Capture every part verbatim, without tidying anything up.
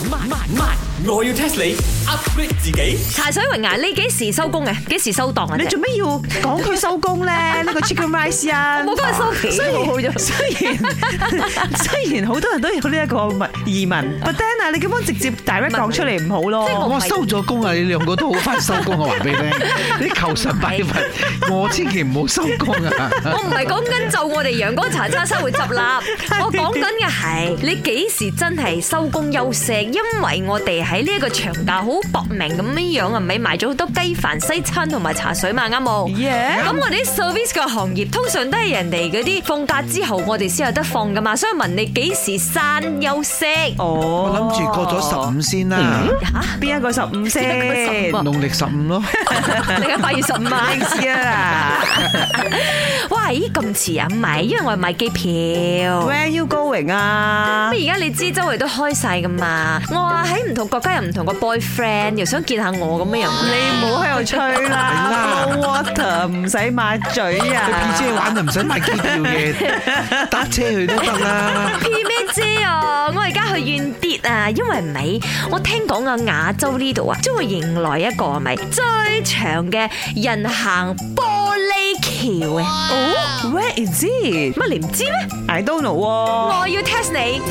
慢慢慢，我要 test 你 upgrade 自己。 茶水榮啊，你幾時收工嘅？幾時收檔啊？ 你做咩要講佢收工咧？呢個 Chicken Rice 啊， 我講佢收皮， 雖然好咗。 雖然雖然好多人都有呢一個疑問 ，but then 啊，你咁樣直接 direct 講出嚟唔好咯。 我收咗工啊！你兩個都好快收工啊！話俾你聽，你求神拜佛，我千祈唔好收工啊！ 我唔係講緊就我哋陽光茶餐室會執笠，我講緊嘅係你幾時真係收工休息，因為我哋喺呢一個長假好搏命咁樣樣啊，咪賣咗好多雞飯、西餐同埋茶水嘛，啱冇？咁 Yeah 我哋啲 service 嘅行業通常都係人哋嗰啲放假之後，我哋先有得放噶嘛，所以問你幾時散休息？ 哦， 我諗住過咗十五先啦， 嚇， 邊一個十五先？ 邊農曆十五咯。 你而家八月十五啊？ 知啊哇，咦咁遲啊？唔係，因為我係買機票。 ，Where you going 啊？ 咁而家你知周圍都開晒噶嘛？我話喺唔同國家有唔同個 boyfriend，又想見下我咁樣樣。 你唔好喺度吹啦 ，no water 唔使抹嘴去 P 啊！ 姐玩就唔使買機票嘅，搭車去都得啦。 P 咩姐啊？我而家去遠啲啊，因為咪我聽講啊，亞洲呢度啊，將會迎來一個係咪最長嘅人行玻璃橋啊！ 哦，Where is it？ 乜你唔知咩？ I don't know 喎。 我要 test 你。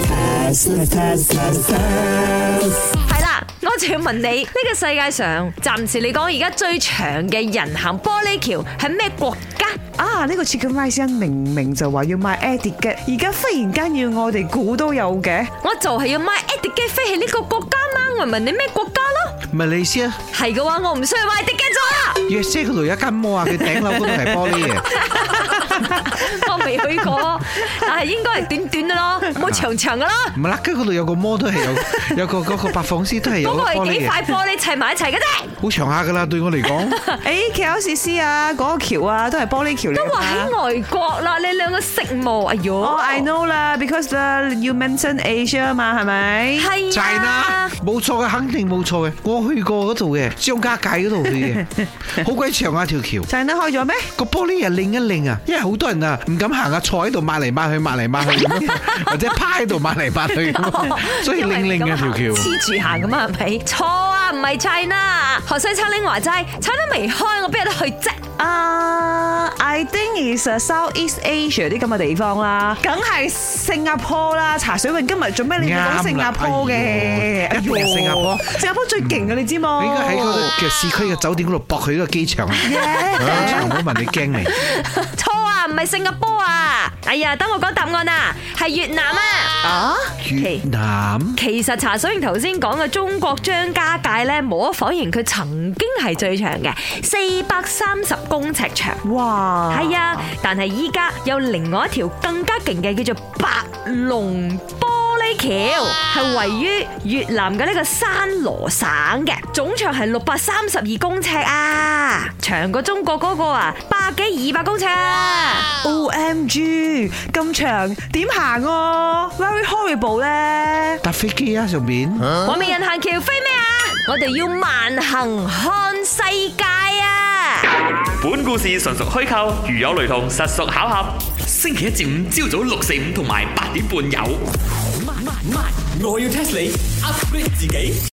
係啦，我就要問你，呢個世界上暫時嚟講，而家最長嘅人行玻璃橋係咩國家？ 啊！呢個 Chicken Rice 明明就話要買 Etiquette，而家忽然間要我哋估都有嘅。 我就係要買 Etiquette 飛去呢個國家嘛，我問你咩國家咯？ 唔係你先啊， 係嘅話，我唔需要買 Etiquette 咗啦。 約姐嗰度有一間摩啊，佢頂樓嗰度係玻璃嘅。 我未去過，但係應該係短短嘅咯，冇長長嘅咯。 唔係啦，跟嗰度有個摩都係有有個嗰個百貨公司都係有嗰個係幾玻璃嘅， 塊玻璃砌埋一齊嘅啫。 好長下噶啦，對我嚟講。 誒 K L C C 啊，嗰個橋啊，都係玻璃橋嚟㗎都話嘛。 喺外國啦，你兩個識冇？哎喲， 哦，I know 啦，because you mention Asia 嘛，係咪？ 係就係啦啊，， 冇錯嘅，肯定冇錯嘅。我去過嗰度嘅，張家界嗰度去嘅，好鬼長啊條橋。 就係得開咗咩？ 個玻璃又擰一擰啊，因為好多人啊唔敢行啊，坐喺度抹嚟抹去，抹嚟抹去咁樣，或者趴喺度抹嚟抹去咁樣，所以擰擰嘅條橋。 黐住行咁啊，係咪？錯啊，唔係 China。學西餐拎話齋，China未開，我邊有得去啫？ 啊、uh,，I think is Southeast Asia 啲咁嘅地方啦，梗係新加坡啦。茶水泳今日做咩？你要講新加坡嘅？ 哎呦一定係新加坡。 新加坡最勁嘅，你知冇？ 你應該喺嗰個嘅市區嘅酒店嗰度駁去呢個機場啊！唔好問你驚你。 錯啊，唔係新加坡啊！哎呀，等我講答案啊，係越南啊！ 啊？ 越南其實茶水榮頭先講嘅中國張家界咧，無可否認佢曾經係最長嘅，四百三十公尺長。 哇！ 係啊，但係依家有另外一條更加勁嘅，叫做白龍玻璃橋，係位於越南嘅呢個山羅省嘅，總長係六百三十二公尺啊，長過中國嗰個啊百幾二百公尺啊 O M G 咁長點行啊 ？Very horrible 咧！ 搭飛機啊上邊。 我未人行橋飛咩啊？我哋要慢行看世界啊！ 本故事純屬虛構，如有雷同，實屬巧合。星期一至五朝早六四五同埋八點半有。慢慢慢，我要 test 你 upgrade 自己。